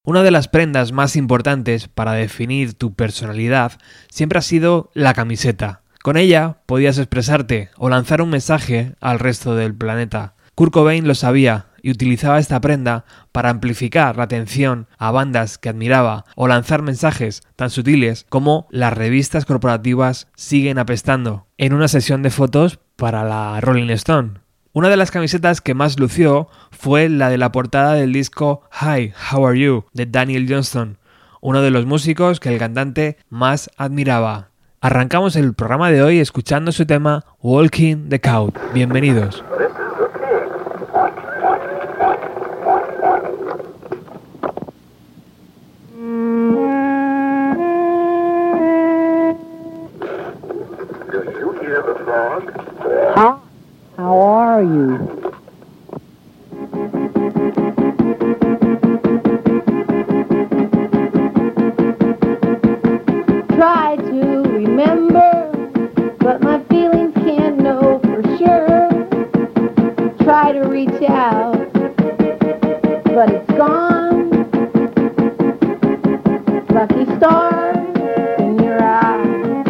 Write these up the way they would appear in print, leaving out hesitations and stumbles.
Una de las prendas más importantes para definir tu personalidad siempre ha sido la camiseta. Con ella podías expresarte o lanzar un mensaje al resto del planeta. Kurt Cobain lo sabía y utilizaba esta prenda para amplificar la atención a bandas que admiraba o lanzar mensajes tan sutiles como las revistas corporativas siguen apestando en una sesión de fotos para la Rolling Stone. Una de las camisetas que más lució fue la de la portada del disco Hi, How Are You de Daniel Johnston, uno de los músicos que el cantante más admiraba. Arrancamos el programa de hoy escuchando su tema Walking the Couch. Bienvenidos. How are you? Try to remember, but my feelings can't know for sure. Try to reach out, but it's gone. Lucky stars in your eyes.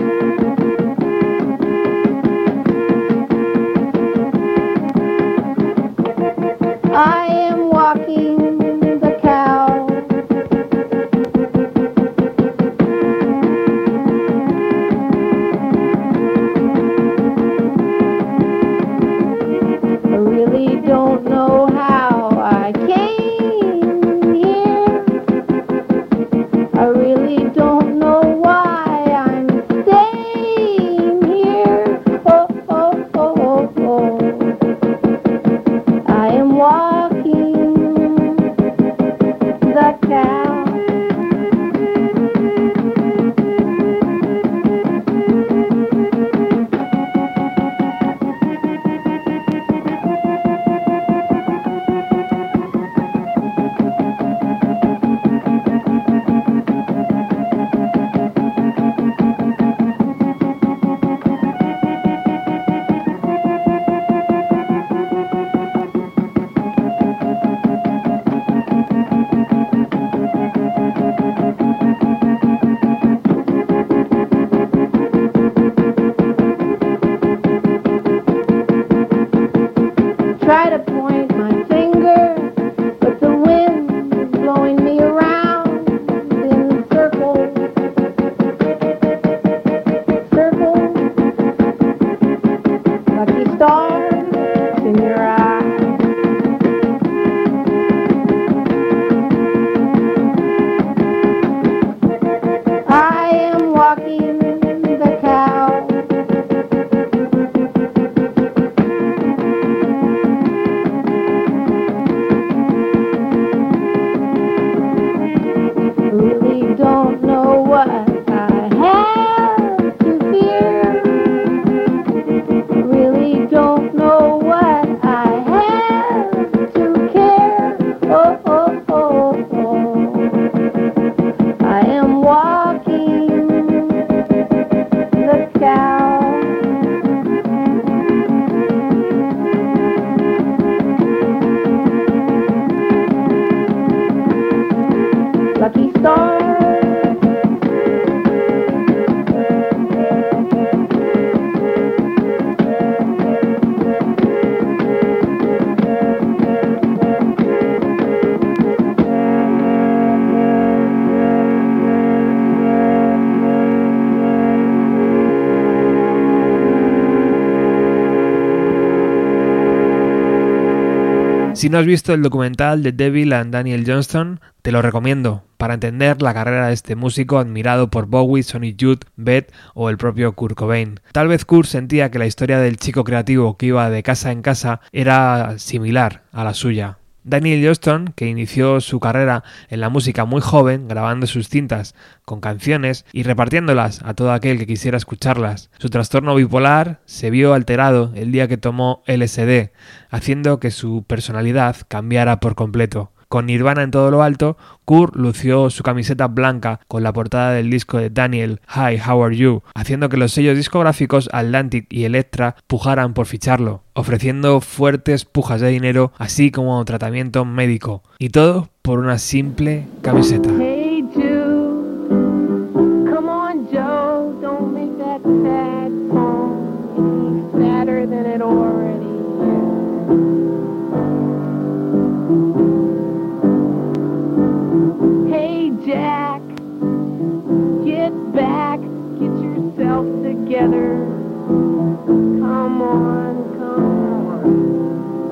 I am walking the cow. I really don't know how I came here. I really don't know why I'm staying here. Oh, oh, oh, oh, oh. I am walking the cow. Try to point my finger, but the wind is blowing me around in circles. Circles, lucky stars in your eyes. I am walking the cow. Really don't know what I have to fear. Really don't know what I have to care. Oh, oh, oh, oh. I am walking the cow. Lucky star. Si no has visto el documental de Devil and Daniel Johnston, te lo recomiendo para entender la carrera de este músico admirado por Bowie, Sonic Youth, Beth o el propio Kurt Cobain. Tal vez Kurt sentía que la historia del chico creativo que iba de casa en casa era similar a la suya. Daniel Johnston, que inició su carrera en la música muy joven, grabando sus cintas con canciones y repartiéndolas a todo aquel que quisiera escucharlas. Su trastorno bipolar se vio alterado el día que tomó LSD, haciendo que su personalidad cambiara por completo. Con Nirvana en todo lo alto, Kurt lució su camiseta blanca con la portada del disco de Daniel, Hi, How Are You, haciendo que los sellos discográficos Atlantic y Elektra pujaran por ficharlo, ofreciendo fuertes pujas de dinero así como tratamiento médico, y todo por una simple camiseta. Hey Jude, come on Joe, don't make that sad song any sadder than it already is. Hey Jack, get back, get yourself together. Come on, come on.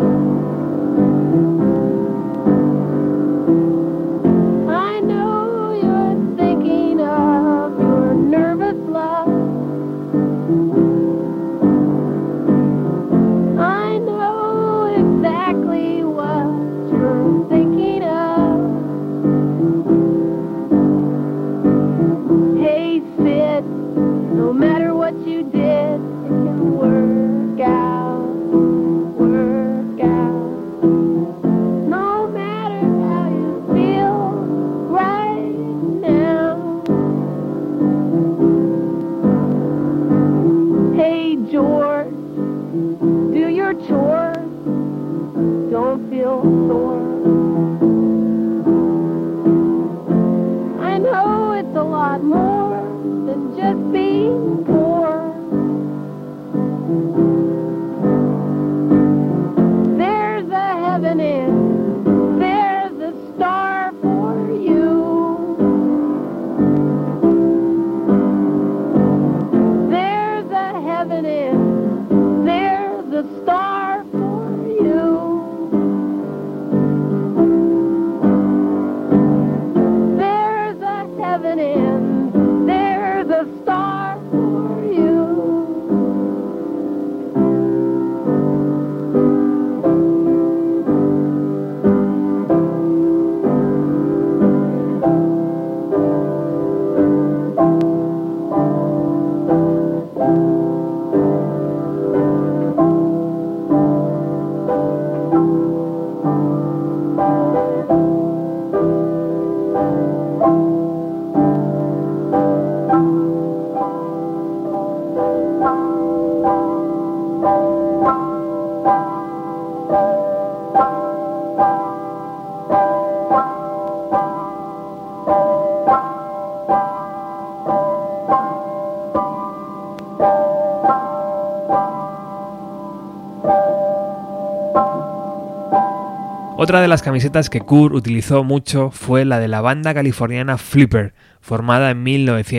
Otra de las camisetas que Kurt utilizó mucho fue la de la banda californiana Flipper, formada en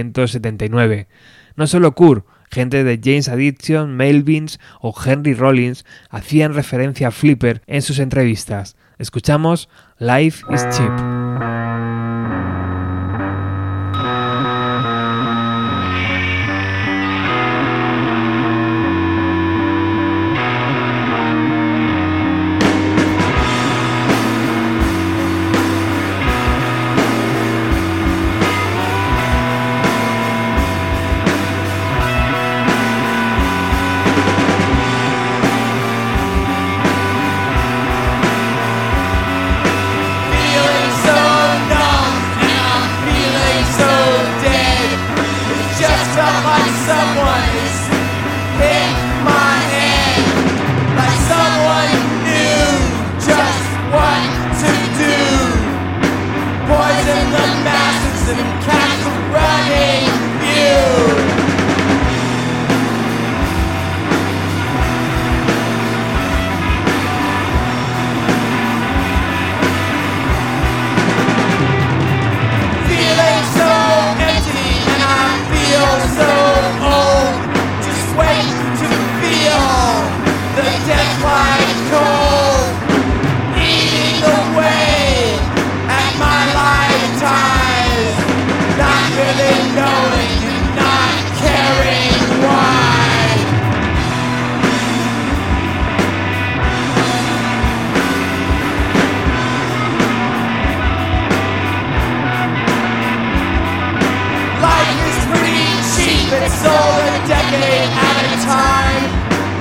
1979. No solo Kurt, gente de Jane's Addiction, Melvins o Henry Rollins hacían referencia a Flipper en sus entrevistas. Escuchamos Life is Cheap.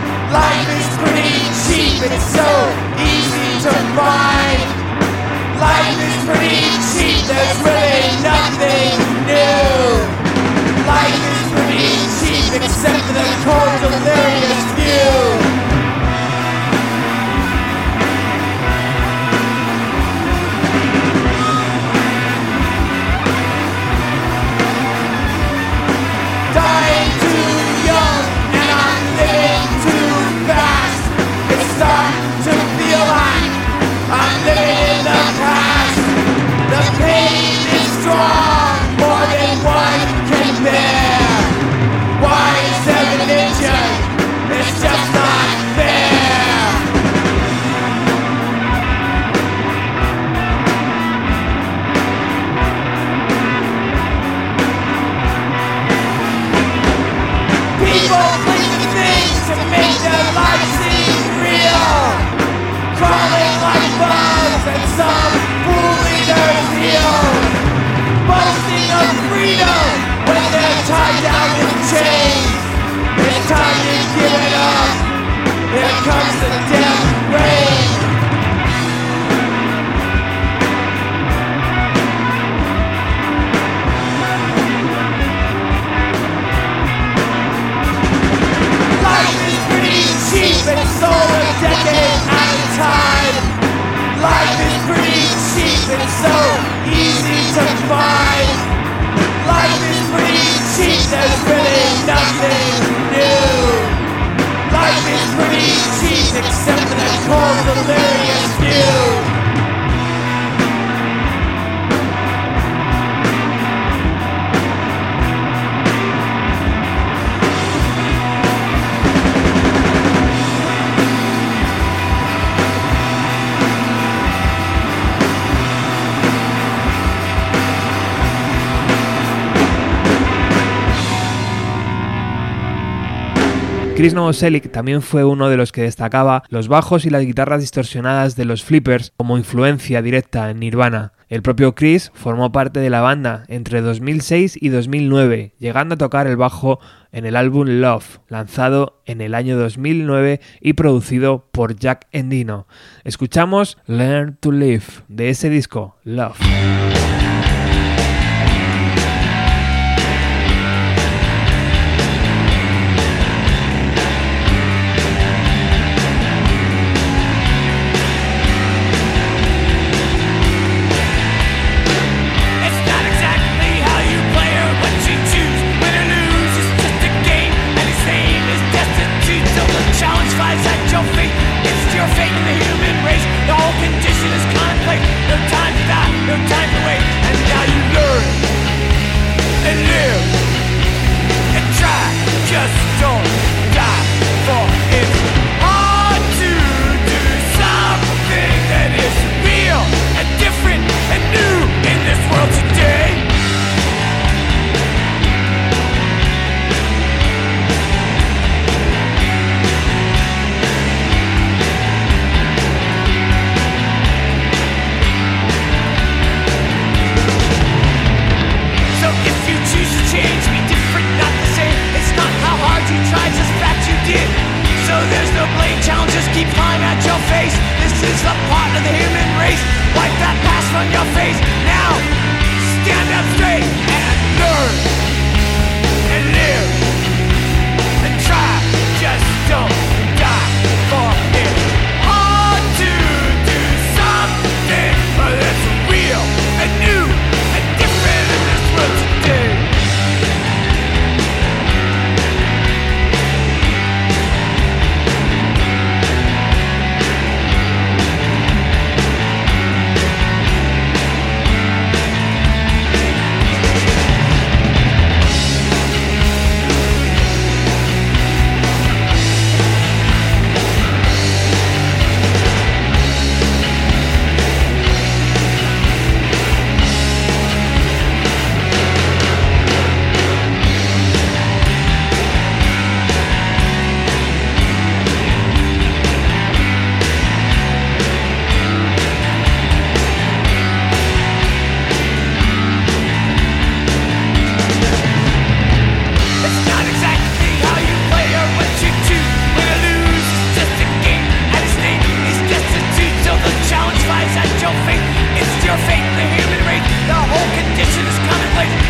It's so easy to find. Life nothing new. Life is pretty cheap except for the cold delirious view. Dying too young and I'm living too fast. It's starting to feel like I'm living in the past. The pain is strong, more than one can bear. Why is there religion? It's just not fair. People cling to things to make their lives seem real. Crawling like bugs and some fooling their heels. Boasting of freedom when they're tied down with chains. It's time to give it up. Here comes the death rain. Life is pretty cheap and sold a decade at a time. Life is pretty cheap and so easy to find. Life is pretty cheap, there's really nothing new. Life is pretty cheap except for the cold delirious view. Chris Novoselic también fue uno de los que destacaba los bajos y las guitarras distorsionadas de los Flippers como influencia directa en Nirvana. El propio Chris formó parte de la banda entre 2006 y 2009, llegando a tocar el bajo en el álbum Love, lanzado en el año 2009 y producido por Jack Endino. Escuchamos Learn to Live de ese disco, Love. Your fate in the human race, the whole condition is contemplate. No time to die, no time to wait.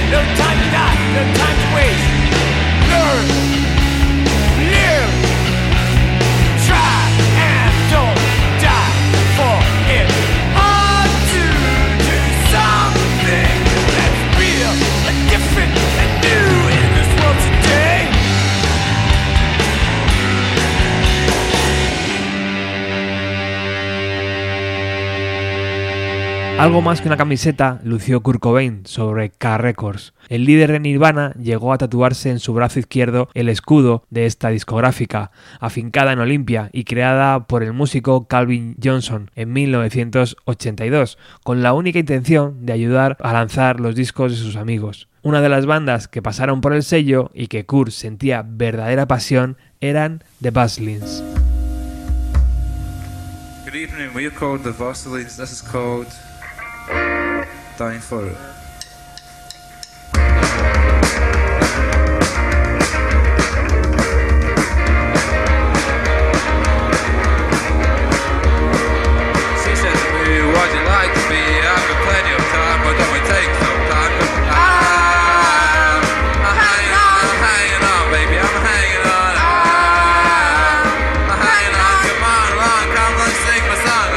No time to die, no time to waste. Learn, live, try and don't die for it. Hard to do something that's real and different and new in this world today. Algo más que una camiseta lució Kurt Cobain sobre K Records. El líder de Nirvana llegó a tatuarse en su brazo izquierdo el escudo de esta discográfica, afincada en Olympia y creada por el músico Calvin Johnson en 1982, con la única intención de ayudar a lanzar los discos de sus amigos. Una de las bandas que pasaron por el sello y que Kurt sentía verdadera pasión eran The Buzzlings. Good evening, we are called the Buzzlings. This is called Dying for It. She said to me, would you like to be? I've got plenty of time, but don't we take some time? I'm hanging on, baby, I'm hanging on. I'm hanging on, come on, along, come, let's sing my song.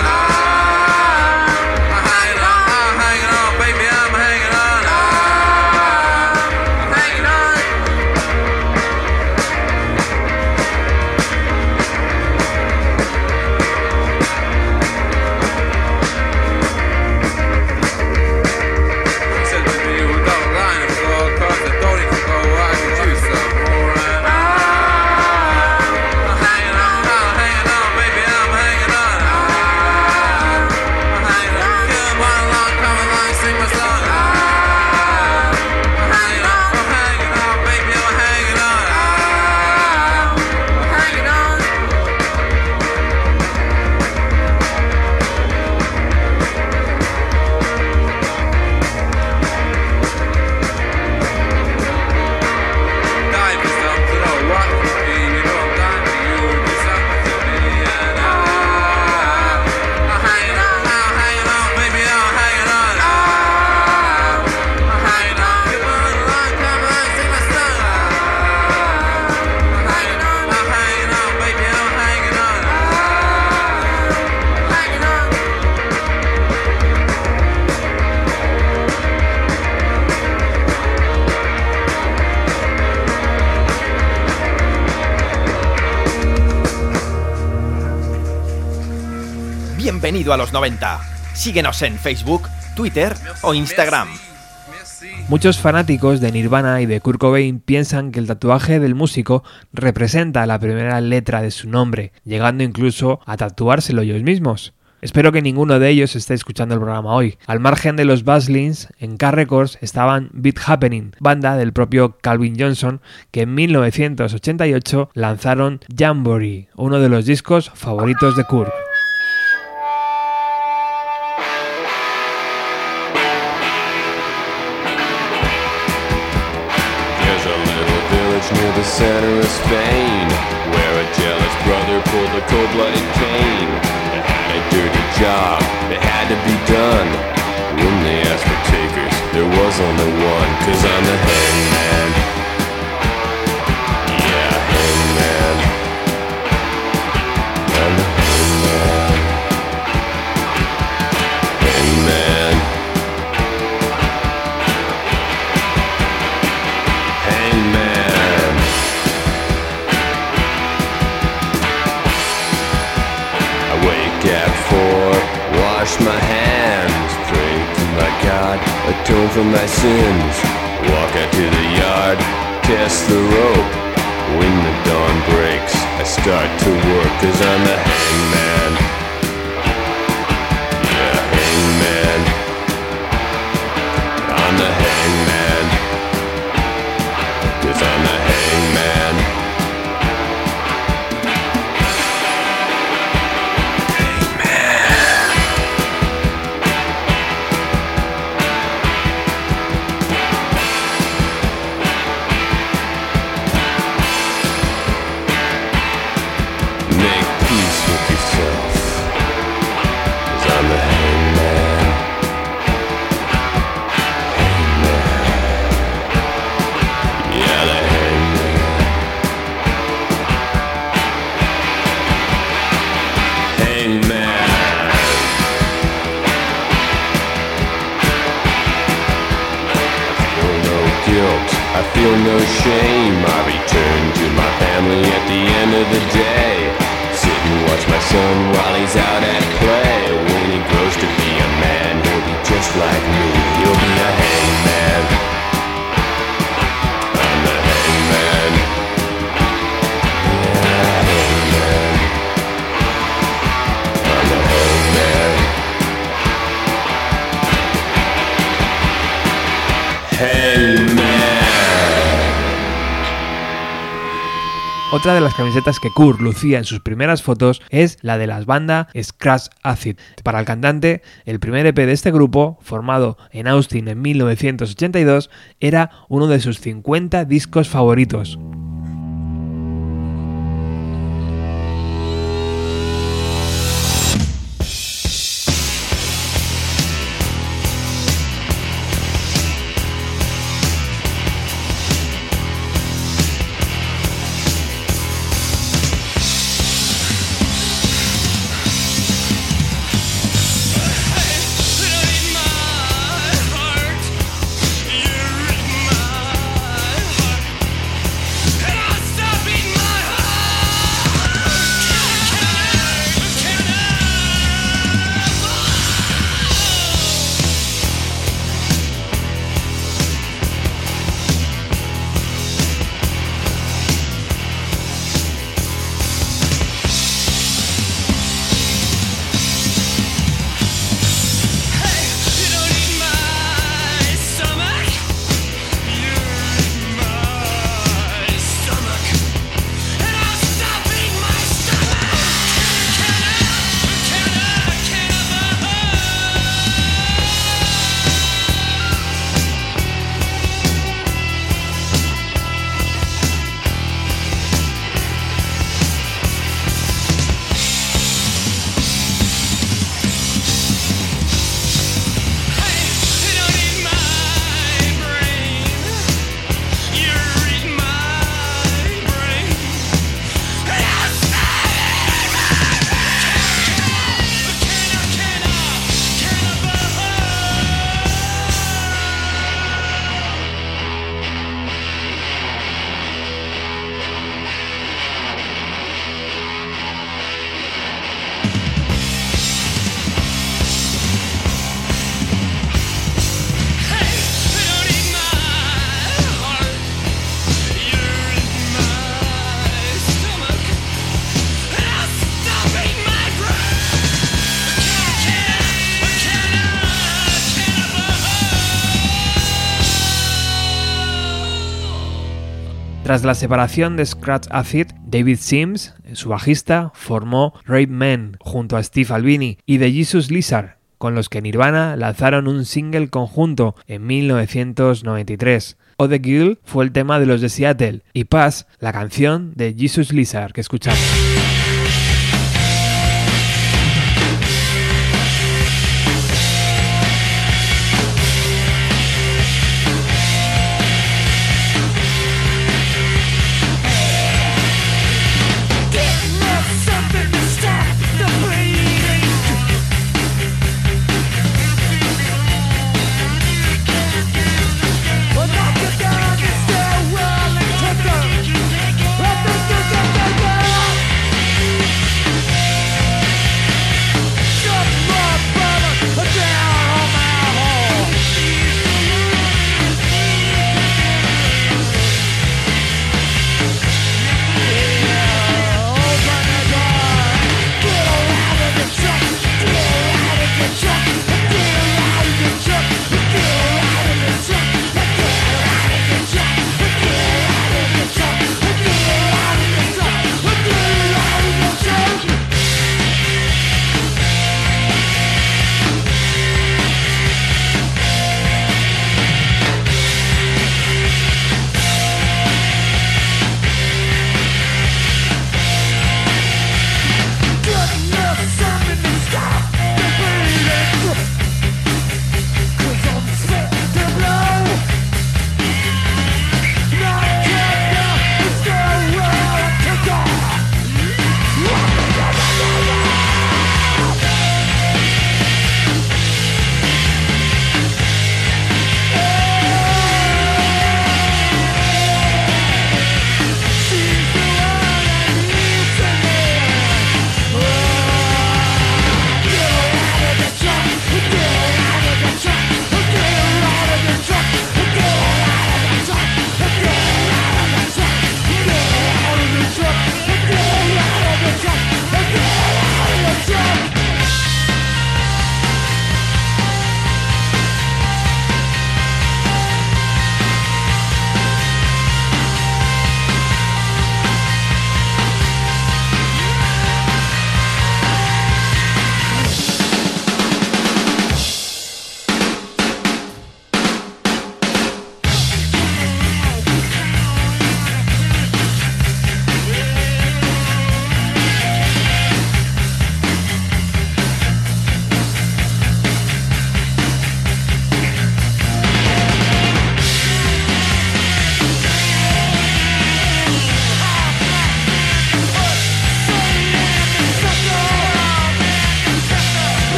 I'm hanging on, baby, I'm hanging on. I'm hanging on. She said to me, we got a line of floor, cause I don't even go, I could use some more. And I'm hanging on, baby, I'm hanging on. I'm hanging on, come along, sing my song. I'm hanging on, baby, I'm hanging on. I'm hanging on. Dying for something, oh, what for me? You know I'm dying for you, do something to me. And I'm hanging on, baby, I'm hanging on. I'm hanging on, come along, sing my song. I'm hanging on, baby, I'm hanging on. I'm hanging on. Bienvenido a los 90. Síguenos en Facebook, Twitter o Instagram. Muchos fanáticos de Nirvana y de Kurt Cobain piensan que el tatuaje del músico representa la primera letra de su nombre, llegando incluso a tatuárselo ellos mismos. Espero que ninguno de ellos esté escuchando el programa hoy. Al margen de los Buzzlings, en K Records estaban Beat Happening, banda del propio Calvin Johnson, que en 1988 lanzaron Jamboree, uno de los discos favoritos de Kurt. There's a little village near the center of Spain, where a jealous brother pulled a cold-blooded cane. It had a dirty job, it had to be done. When they asked for takers, there was only one, 'cause I'm the hangman. Yeah, hangman. I'm the hangman. Hangman. Hangman. I wake at 4, wash my hands, pray to my God, atone for my sins. Walk out to the yard, test the rope. When the dawn breaks, I start to work, 'cause I'm the hangman. Yeah, hangman. I'm the hangman. 'Cause I'm the hangman. Make peace with yourself. guilt, I feel no shame. I return to my family at the end of the day. Sit and watch my son while he's out at play. When he grows to be a man, he'll be just like me. He'll be a hangman. I'm the hangman. Yeah, hangman. I'm the hangman. Hangman. Otra de las camisetas que Kurt lucía en sus primeras fotos es la de la banda Scratch Acid. Para el cantante, el primer EP de este grupo, formado en Austin en 1982, era uno de sus 50 discos favoritos. Tras la separación de Scratch Acid, David Sims, su bajista, formó Rape Man junto a Steve Albini y The Jesus Lizard, con los que Nirvana lanzaron un single conjunto en 1993. O The Girl fue el tema de los de Seattle y Pass, la canción de Jesus Lizard que escuchamos.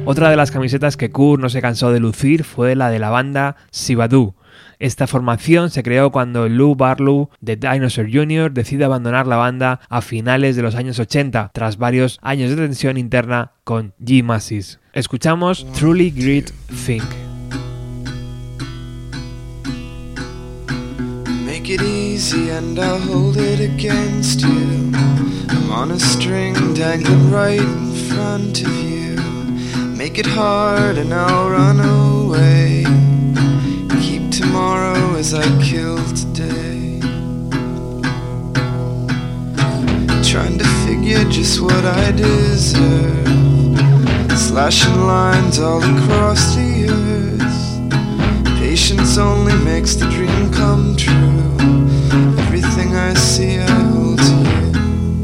Otra de las camisetas que Kurt no se cansó de lucir fue la de la banda Xanadu. Esta formación se creó cuando Lou Barlow de Dinosaur Jr. decide abandonar la banda a finales de los años 80, tras varios años de tensión interna con G. Mascis. Escuchamos Truly Great Thing. Make it easy and I'll hold it against you. I'm on a string dangling right in front of you. Make it hard and I'll run away. Keep tomorrow as I kill today. Trying to figure just what I deserve. Slashing lines all across the earth. Patience only makes the dream come true. Everything I see I hold to you.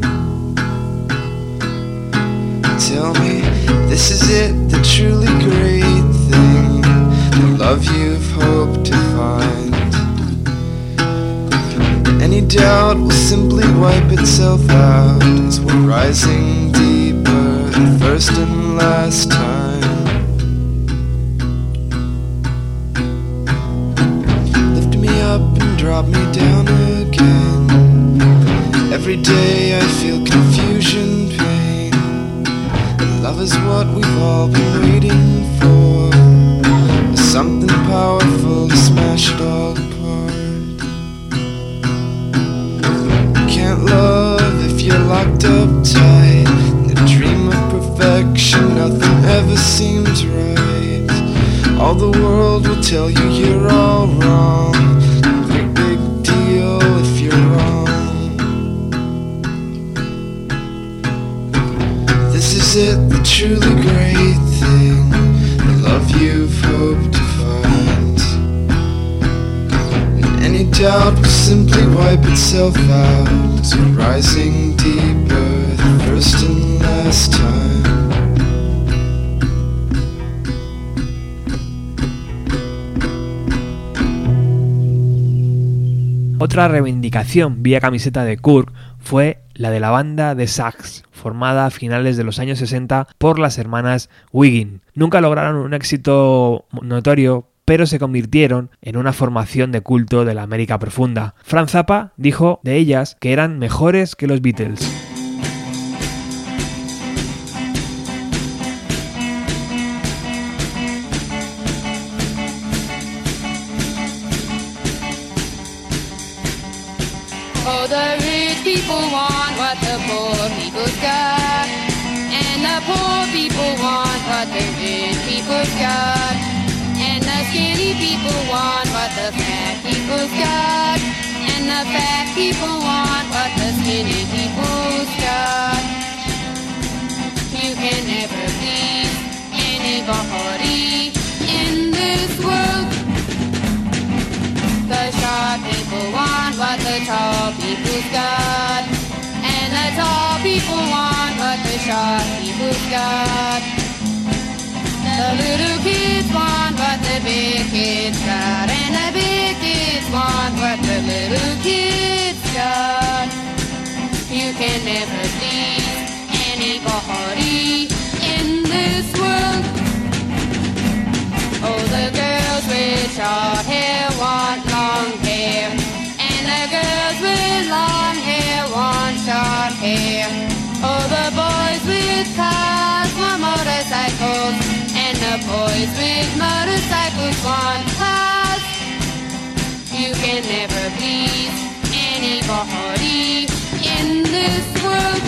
Tell me, this is it, the truly great thing, the love you've hoped to find. Any doubt will simply wipe itself out as we're rising deeper the first and last time. Lift me up and drop me down again. Every day I feel confusion, pain. Love is what we've all been waiting for. Something powerful to smash it all apart. Can't love if you're locked up tight. In a dream of perfection, nothing ever seems right. All the world will tell you you're all wrong. Great big deal if you're wrong. This is it, the truly great thing, the love you've hoped to find. And any doubt will simply wipe itself out as we're rising deeper the first and last time. Otra reivindicación vía camiseta de Kurt fue la de la banda The Sax, formada a finales de los años 60 por las hermanas Wiggin. Nunca lograron un éxito notorio, pero se convirtieron en una formación de culto de la América profunda. Frank Zappa dijo de ellas que eran mejores que los Beatles. Oh, the rich people want what the poor people's got, and the poor people want what the rich people's got, and the skinny people want what the fat people's got, and the fat people want what the skinny people's got. You can never please anybody in this world. The short people want what the tall people's got, and the tall people want what the short people's got. The little kids want what the big kids got, and the big kids want what the little kids got. You can never please anybody in this world. Oh, the girls with short hair want long hair, and the girls with long hair want short hair. Oh, the boys with cars want motorcycles, and the boys with motorcycles want cars. You can never please anybody in this world.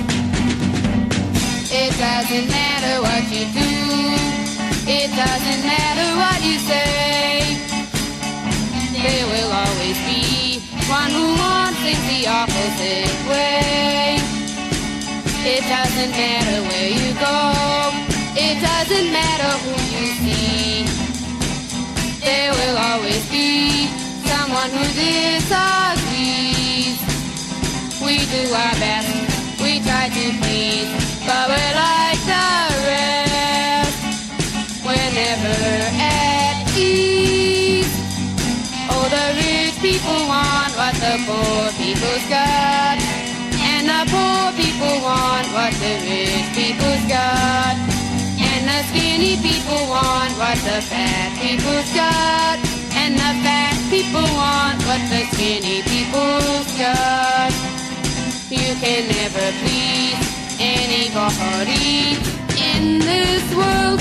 It doesn't matter what you do. It doesn't matter what you say. There will always be one who wants things the opposite way. It doesn't matter where you go. It doesn't matter who you see. There will always be someone who disagrees. We do our best, we try to please, but we're like the rest. We're never at ease. Oh, the rich people want what the poor people's got, and the poor people want what the rich people's got, and the skinny skinny people want what the fat people's got, and the fat people want what the skinny people's got. You can never please anybody in this world.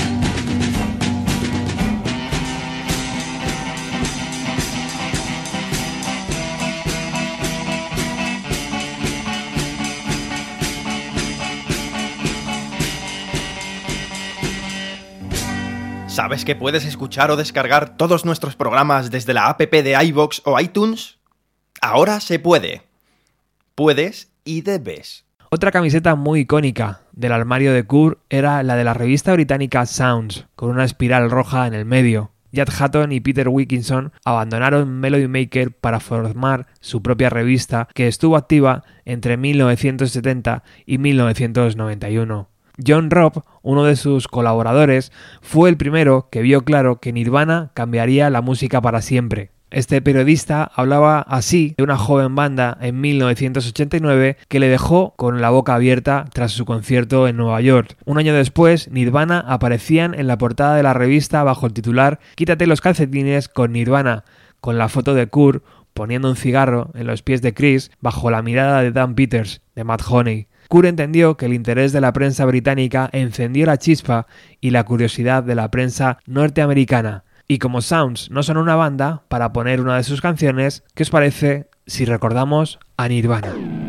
¿Sabes que puedes escuchar o descargar todos nuestros programas desde la app de iVoox o iTunes? Ahora se puede. Puedes y debes. Otra camiseta muy icónica del armario de Kurt era la de la revista británica Sounds, con una espiral roja en el medio. Judd Hutton y Peter Wilkinson abandonaron Melody Maker para formar su propia revista, que estuvo activa entre 1970 y 1991. John Robb, uno de sus colaboradores, fue el primero que vio claro que Nirvana cambiaría la música para siempre. Este periodista hablaba así de una joven banda en 1989 que le dejó con la boca abierta tras su concierto en Nueva York. Un año después, Nirvana aparecían en la portada de la revista bajo el titular "Quítate los calcetines con Nirvana", con la foto de Kurt poniendo un cigarro en los pies de Chris bajo la mirada de Dan Peters, de Mad Honey. Kurt entendió que el interés de la prensa británica encendió la chispa y la curiosidad de la prensa norteamericana. Y como Sounds no son una banda, para poner una de sus canciones, ¿qué os parece si recordamos a Nirvana?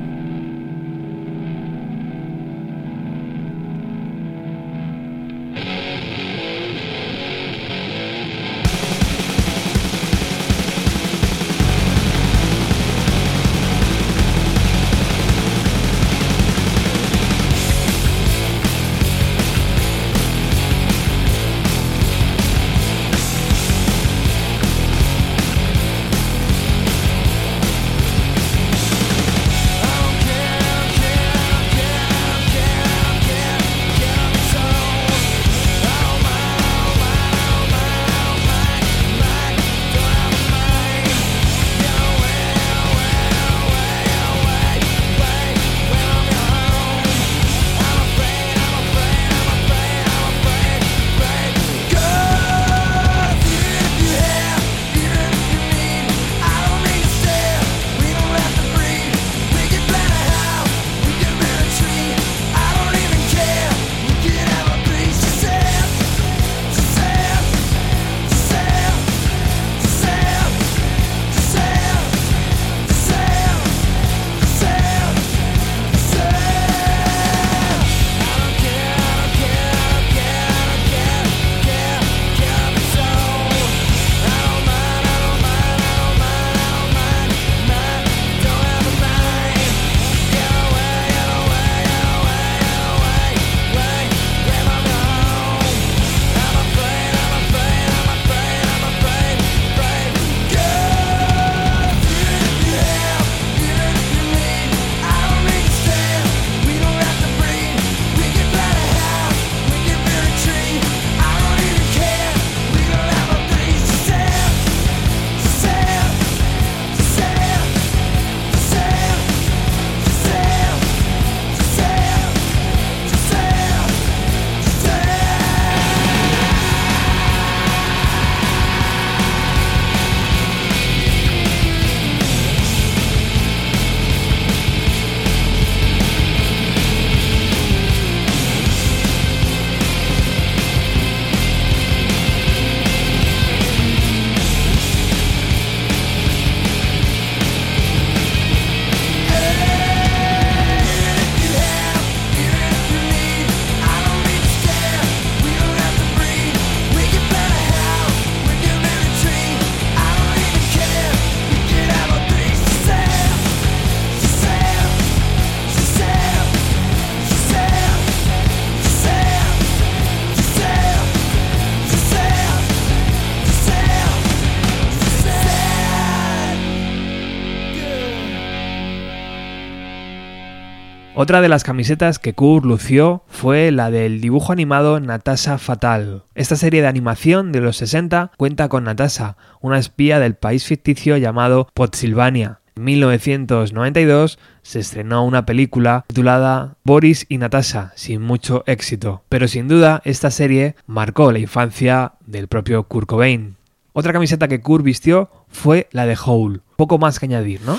Otra de las camisetas que Kurt lució fue la del dibujo animado Natasha Fatal. Esta serie de animación de los 60 cuenta con Natasha, una espía del país ficticio llamado Potsilvania. En 1992 se estrenó una película titulada Boris y Natasha, sin mucho éxito, pero sin duda esta serie marcó la infancia del propio Kurt Cobain. Otra camiseta que Kurt vistió fue la de Hole. Poco más que añadir, ¿no?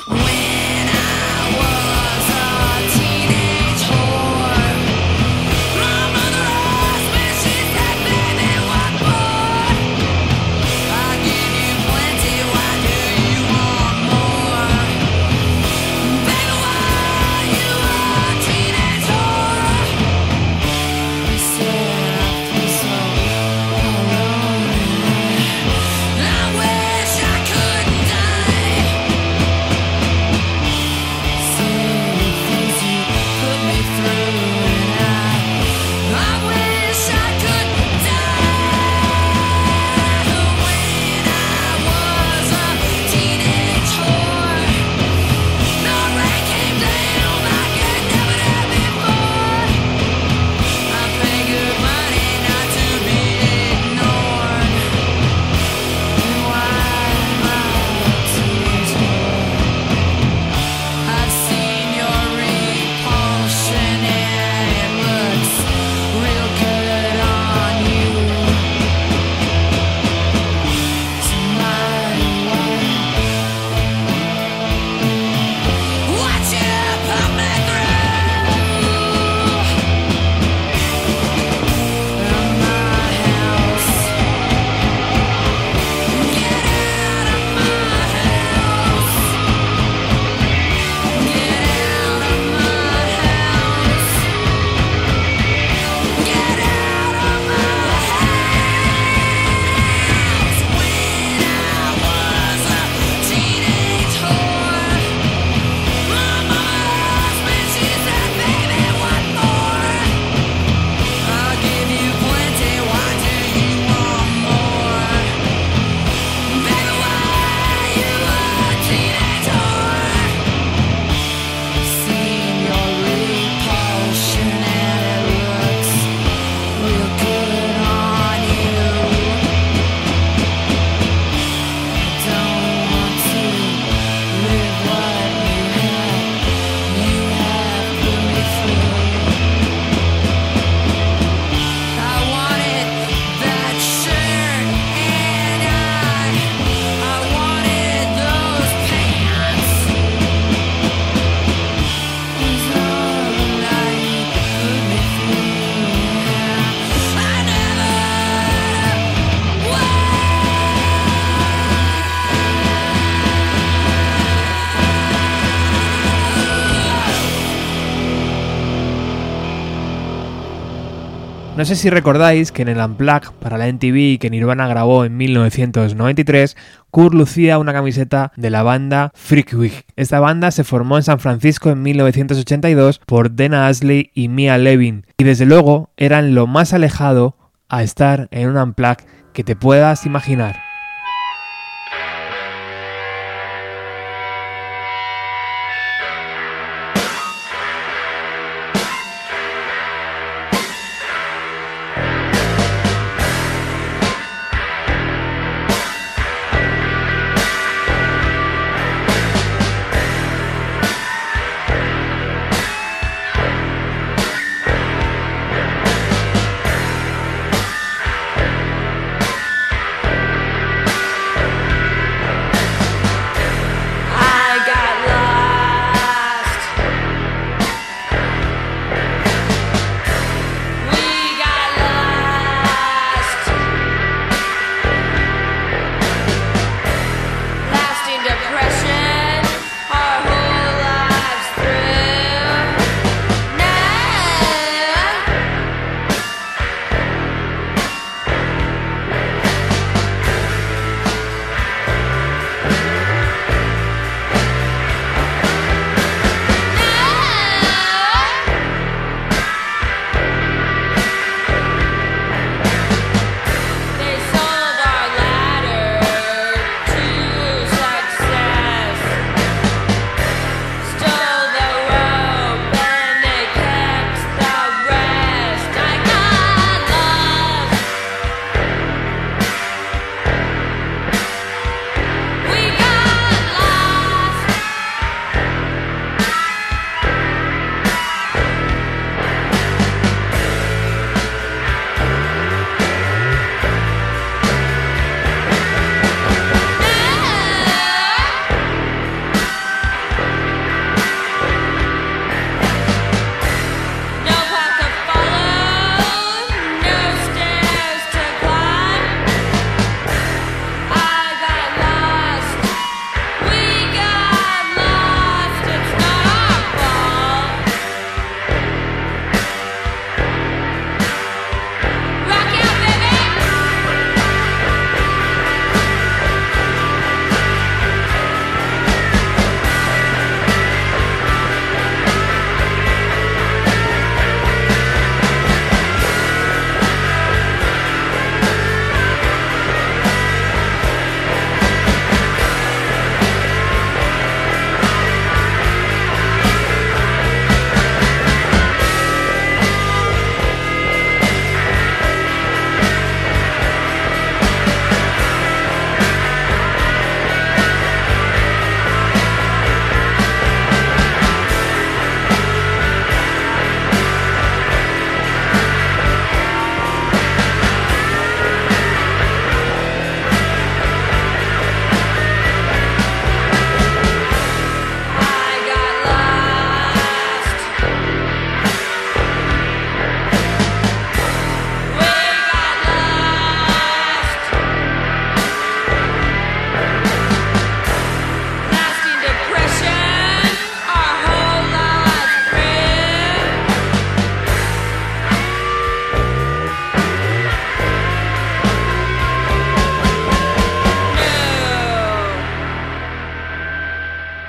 No sé si recordáis que en el Unplugged para la MTV que Nirvana grabó en 1993, Kurt lucía una camiseta de la banda Freakwig. Esta banda se formó en San Francisco en 1982 por Dana Ashley y Mia Levin, y desde luego eran lo más alejado a estar en un Unplugged que te puedas imaginar.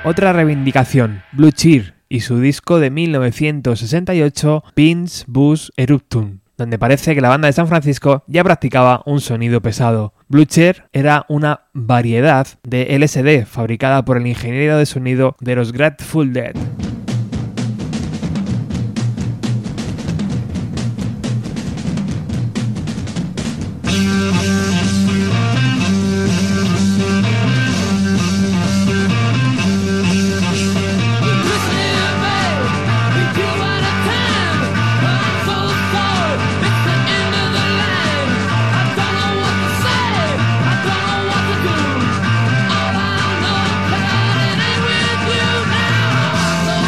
Otra reivindicación, Blue Cheer y su disco de 1968, Pins Bus Eruptum, donde parece que la banda de San Francisco ya practicaba un sonido pesado. Blue Cheer era una variedad de LSD fabricada por el ingeniero de sonido de los Grateful Dead. All I know, that it ain't with you now.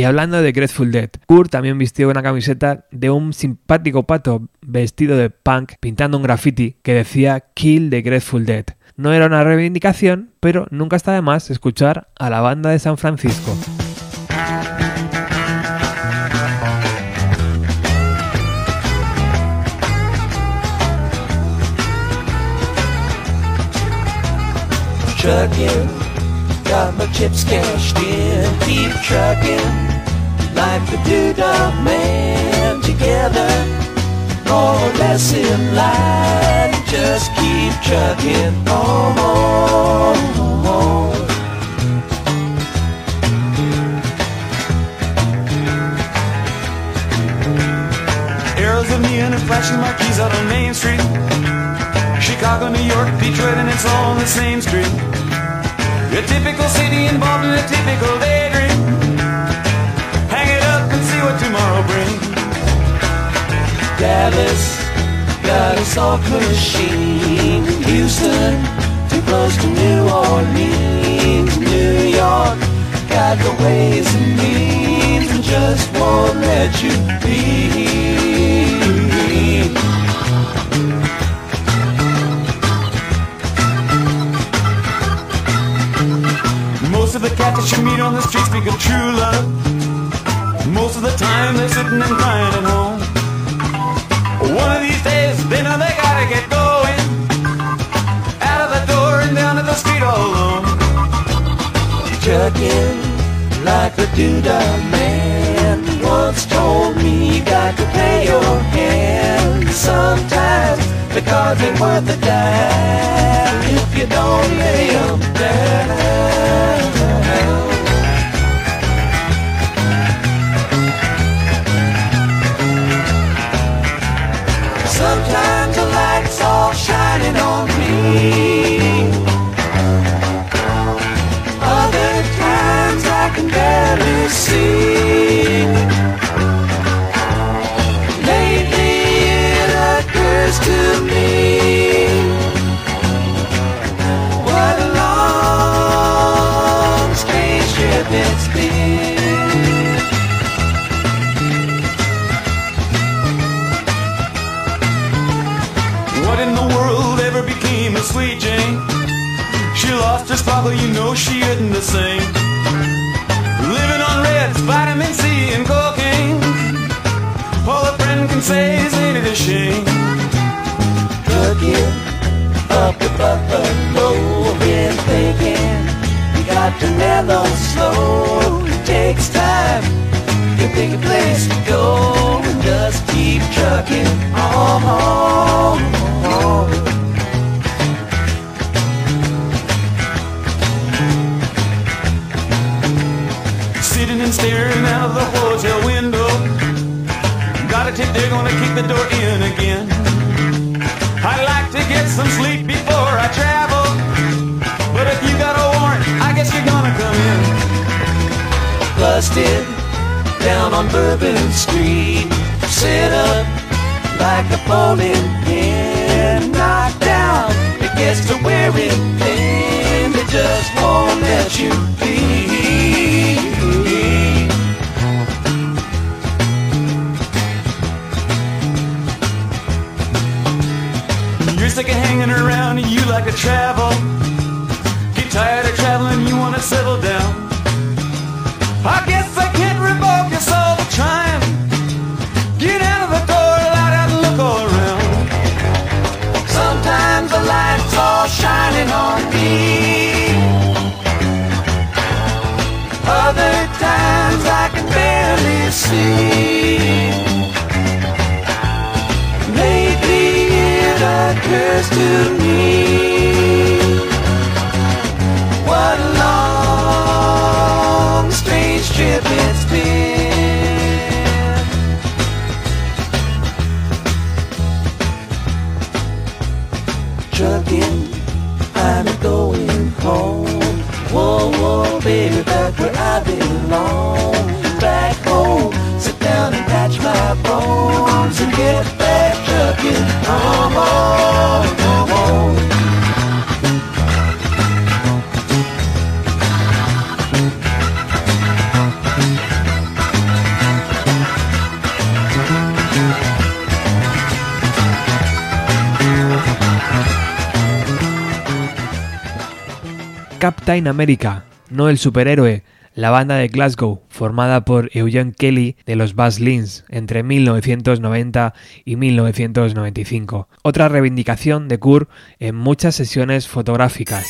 Y hablando de Grateful Dead, Kurt también vistió una camiseta de un simpático pato vestido de punk pintando un graffiti que decía Kill the Grateful Dead. No era una reivindicación, pero nunca está de más escuchar a la banda de San Francisco. Trucking, got my chips cashed in. Keep trucking like the Doodah Man. Together, more or less in line. Just keep trucking on. Arrows of neon and flashing marquees out on Main Street. Chicago, New York, Detroit, and it's all on the same street. A typical city involved in a typical daydream. Hang it up and see what tomorrow brings. Dallas got a soft machine. Houston, too close to New Orleans. New York got the ways and means and just won't let you be. Most of the cats that you meet on the street speak of true love. Most of the time they're sitting and crying at home. One of these days they know they gotta get going. Out of the door and down to the street all alone. Trucking like the Doodah Man once told me you got to pay your hand. Sometimes the cards ain't worth a dime if you don't lay them down. Sometimes the light's all shining on me. Other times I can barely see. Lately it occurs to me what a long, strange trip it's been. What in the world ever became of Sweet Jane? She lost her sparkle, you know she isn't the same. Living on Reds, vitamin C and cocaine. All a friend can say is ain't it a shame. Trucking up the Buffalo, been thinking you got to mellow slow. It takes time to pick a place to go and just keep trucking on. Sitting and staring out of the hotel window. Got a tip they're gonna kick the door in again. I'd like to get some sleep before I travel, but if you got a warrant, I guess you're gonna come in. Busted down on Bourbon Street, set up like a bowling pin, knocked down, it gets to wearing thin, it just won't let you be. You're sick of hanging around and you like to travel. Get tired of traveling, you wanna settle down. I guess I can't revoke your soul for trying. Get out of the door, light out and look all around. Sometimes the light's all shining on me. Other times I can barely see. Lately it occurs to me what a long Captain America, no el superhéroe, la banda de Glasgow, formada por Eugene Kelly de los Baselines entre 1990 y 1995. Otra reivindicación de Kurt en muchas sesiones fotográficas.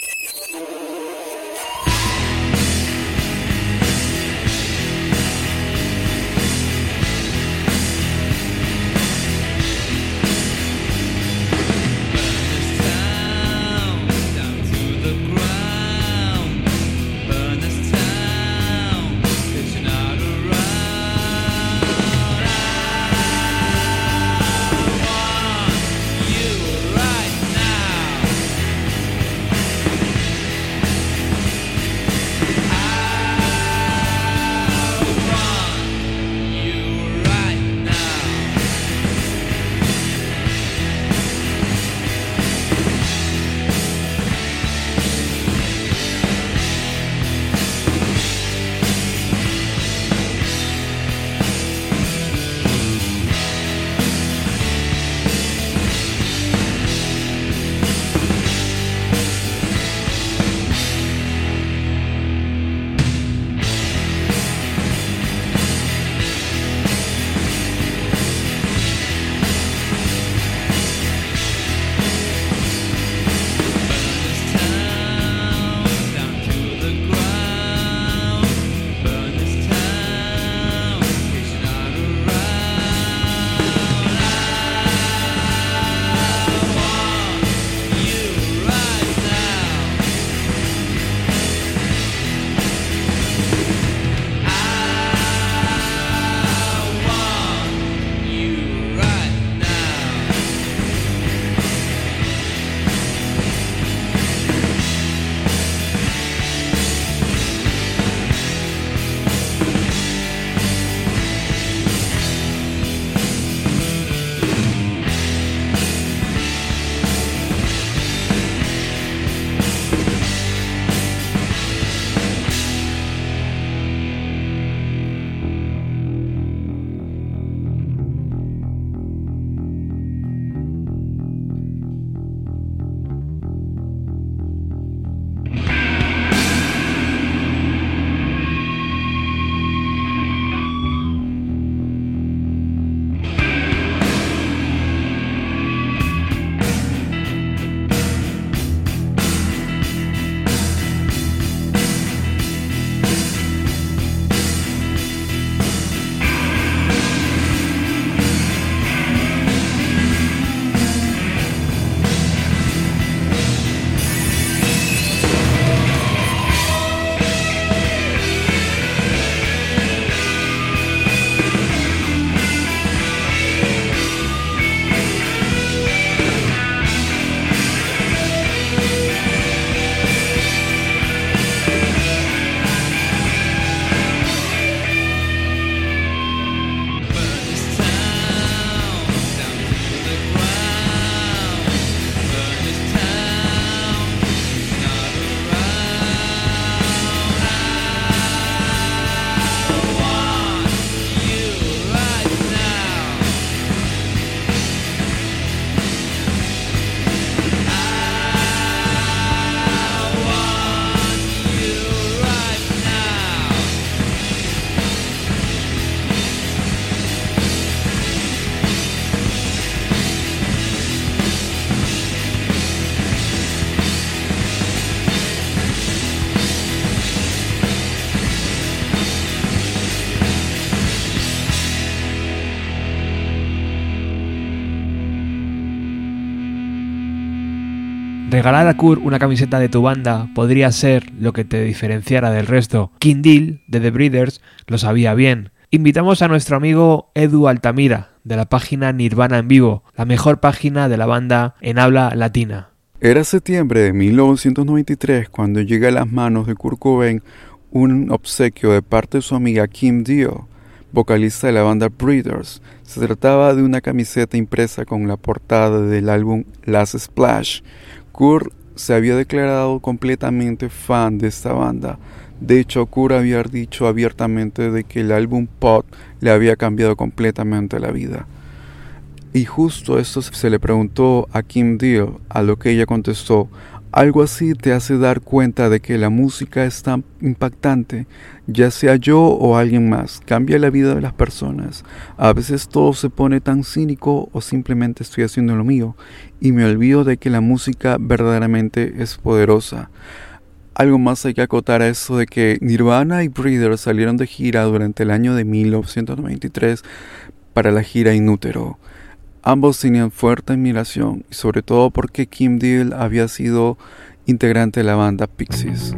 Regalar a Kurt una camiseta de tu banda podría ser lo que te diferenciara del resto. King Deal, de The Breeders, lo sabía bien. Invitamos a nuestro amigo Edu Altamira, de la página Nirvana en Vivo, la mejor página de la banda en habla latina. Era septiembre de 1993 cuando llega a las manos de Kurt Cobain un obsequio de parte de su amiga Kim Deal, vocalista de la banda Breeders. Se trataba de una camiseta impresa con la portada del álbum Last Splash. Kurt se había declarado completamente fan de esta banda. De hecho, Kurt había dicho abiertamente de que el álbum Pod le había cambiado completamente la vida. Y justo esto se le preguntó a Kim Deal, a lo que ella contestó: Algo así te hace dar cuenta de que la música es tan impactante, ya sea yo o alguien más, cambia la vida de las personas. A veces todo se pone tan cínico o simplemente estoy haciendo lo mío y me olvido de que la música verdaderamente es poderosa. Algo más hay que acotar a eso de que Nirvana y Breeders salieron de gira durante el año de 1993 para la gira In Utero. Ambos tenían fuerte admiración, y sobre todo porque Kim Deal había sido integrante de la banda Pixies.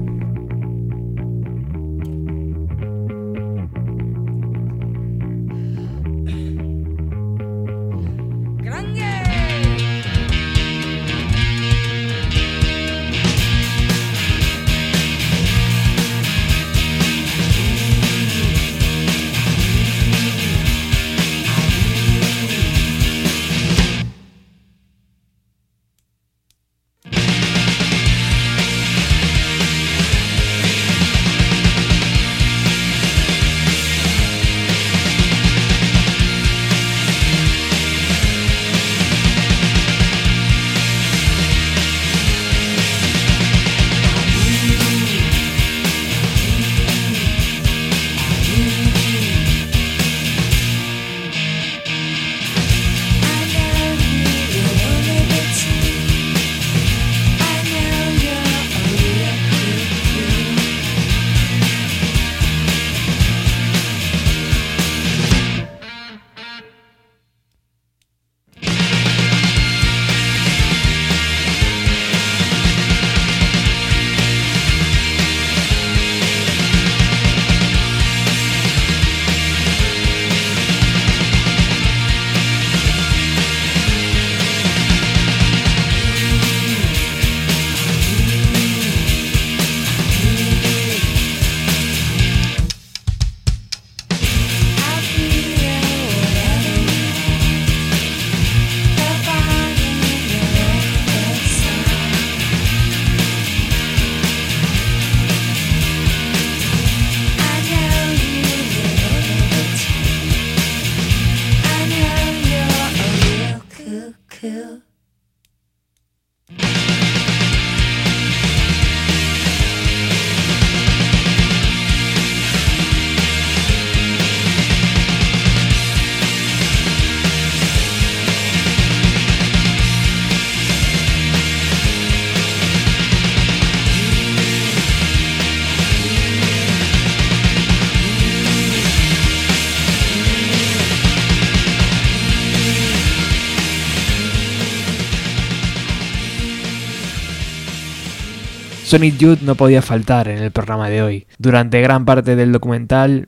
Sonic Youth no podía faltar en el programa de hoy. Durante gran parte del documental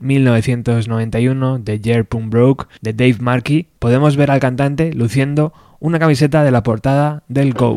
1991 de Year Punk Broke de Dave Markey, podemos ver al cantante luciendo una camiseta de la portada del Go.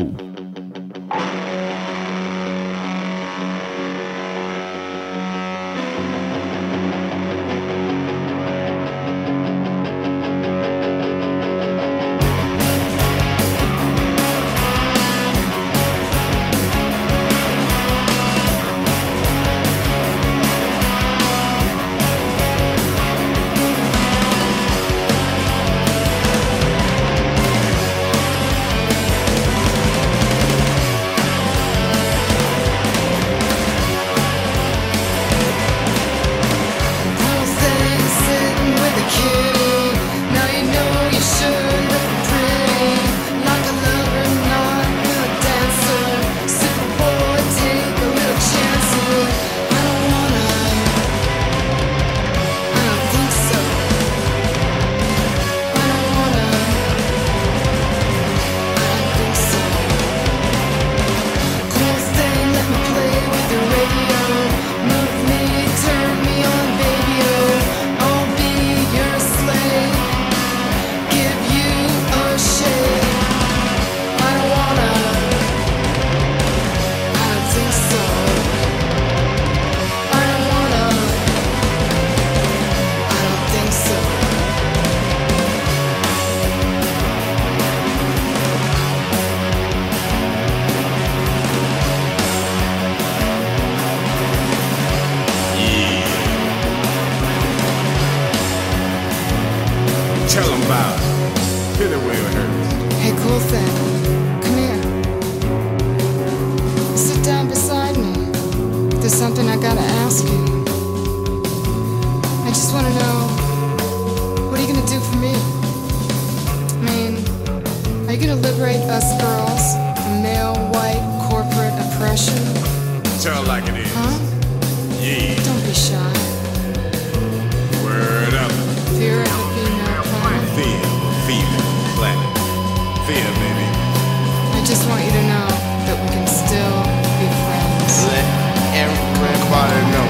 Tell them about it. Hit it where it hurts. Hey, cool thing. Come here. something I gotta ask you. I just wanna know, what are you gonna do for me? I mean, are you gonna liberate us girls from male, white, corporate oppression? Tell it like it is. Huh? Yeah. Don't be shy. Word up. Fear of the female planet. Female planet. Fear, baby. I just want you to know that we can still be friends. Let everybody know.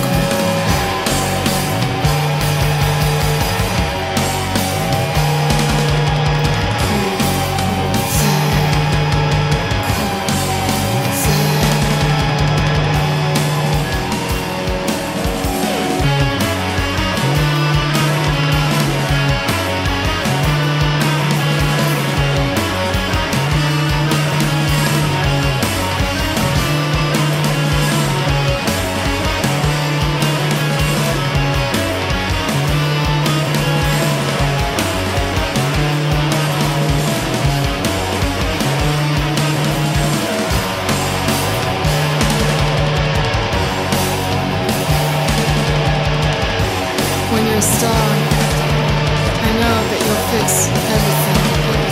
When you're a star, I know that you'll fix everything.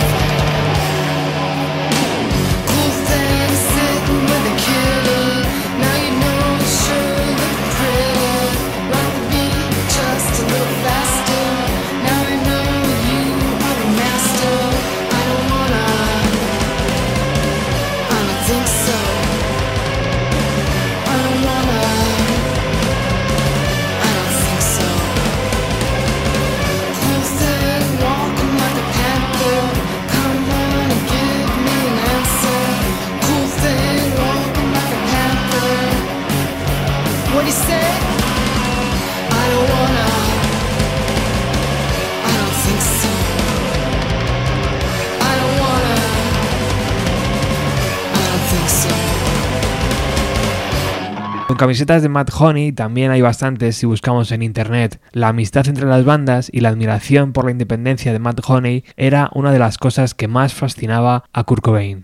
Cool thing sitting with a kitty. Now you know you sure look pretty. Rock the beat just a little faster. Now I know you are the master. I don't think so. I don't think so. Cool thing, walking like a panther. Come on and give me an answer. Cool thing, walking like a panther. What do you say? I don't think so. I don't think so. Con camisetas de Mad Honey también hay bastantes si buscamos en internet. La amistad entre las bandas y la admiración por la independencia de Mad Honey era una de las cosas que más fascinaba a Kurt Cobain.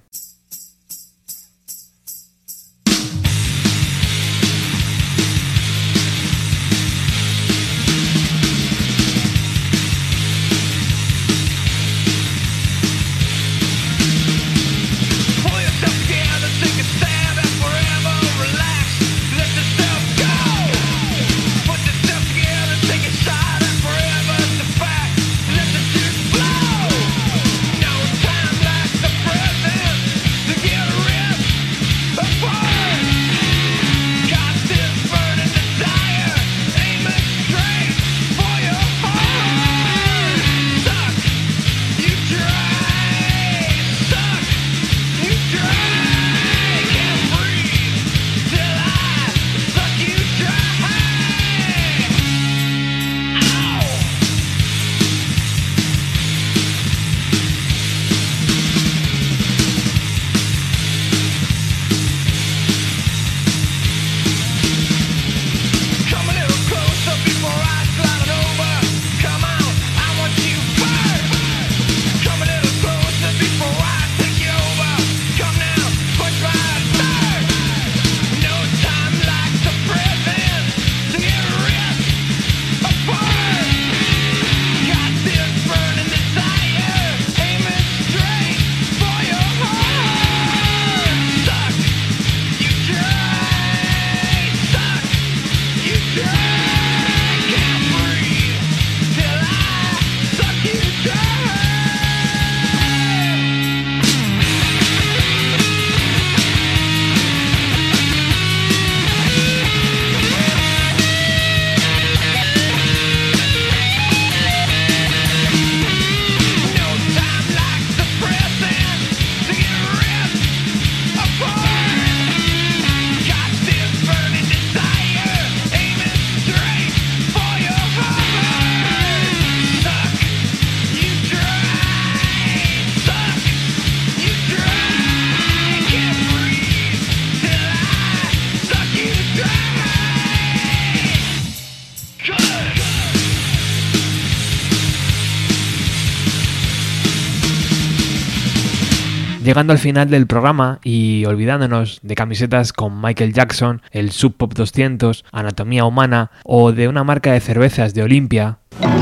Pull yourself together, take a stand and forever relax. Let yourself go. Put yourself together, take a shot and forever the fact. Let the shit flow. No time like the present. Llegando al final del programa y olvidándonos de camisetas con Michael Jackson, el Sub Pop 200, Anatomía Humana o de una marca de cervezas de Olimpia.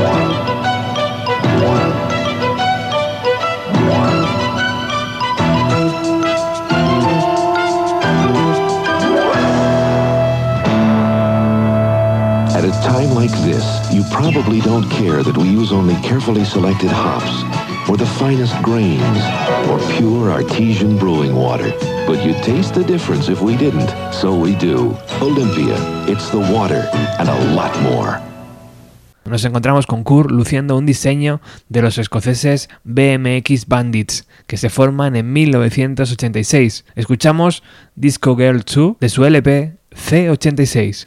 At a time like this, you probably don't care that we use only carefully selected hops, or the finest grains, or pure artesian brewing water. But you'd taste the difference if we didn't. So we do. Olympia, it's the water and a lot more. Nos encontramos con Kurt luciendo un diseño de los escoceses BMX Bandits, que se forman en 1986. Escuchamos Disco Girl 2 de su LP C86.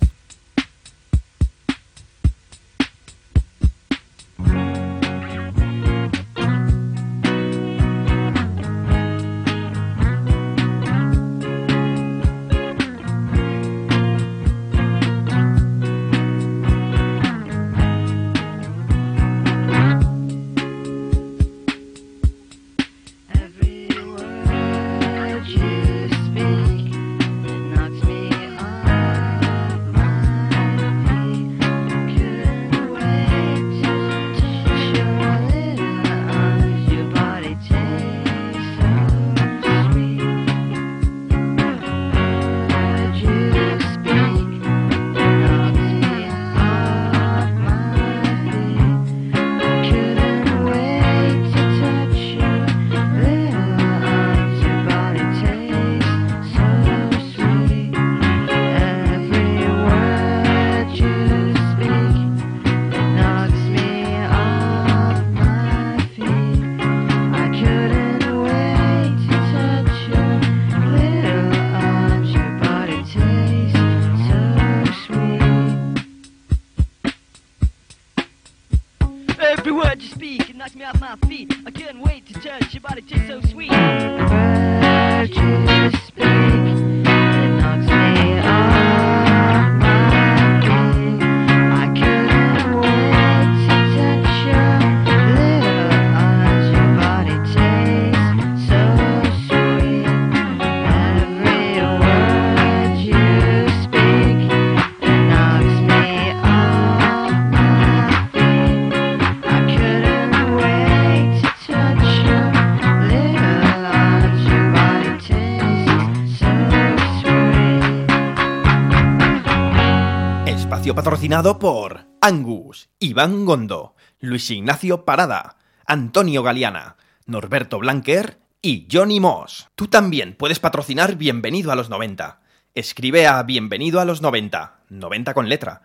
Patrocinado por Angus, Iván Gondo, Luis Ignacio Parada, Antonio Galeana, Norberto Blanquer y Johnny Moss. Tú también puedes patrocinar Bienvenido a los 90. Escribe a bienvenido a los 90, 90 con letra,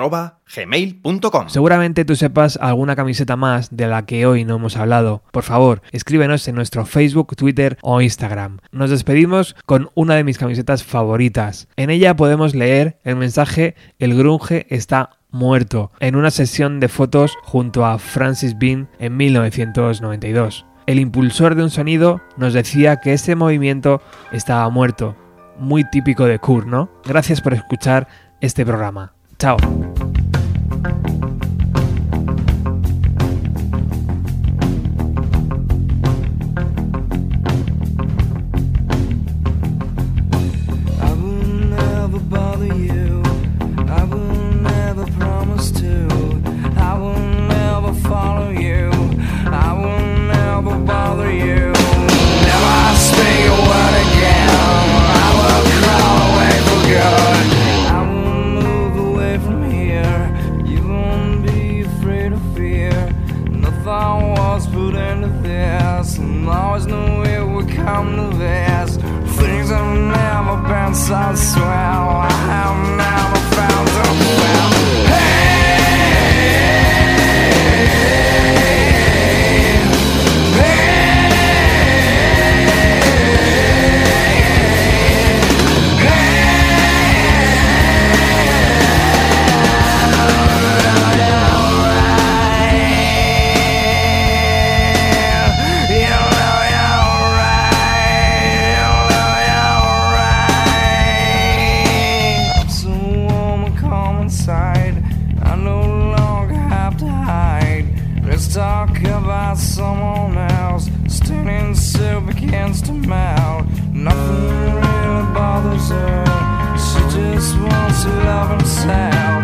@gmail.com. Seguramente tú sepas alguna camiseta más de la que hoy no hemos hablado. Por favor, escríbenos en nuestro Facebook, Twitter o Instagram. Nos despedimos con una de mis camisetas favoritas. En ella podemos leer el mensaje "El grunge está muerto" en una sesión de fotos junto a Francis Bean en 1992. El impulsor de un sonido nos decía que ese movimiento estaba muerto. Muy típico de Kurt, ¿no? Gracias por escuchar este programa. Chao. So swell, I have never found a well. Side talk about someone else, standing so begins to melt. Nothing really bothers her. She just wants to love himself.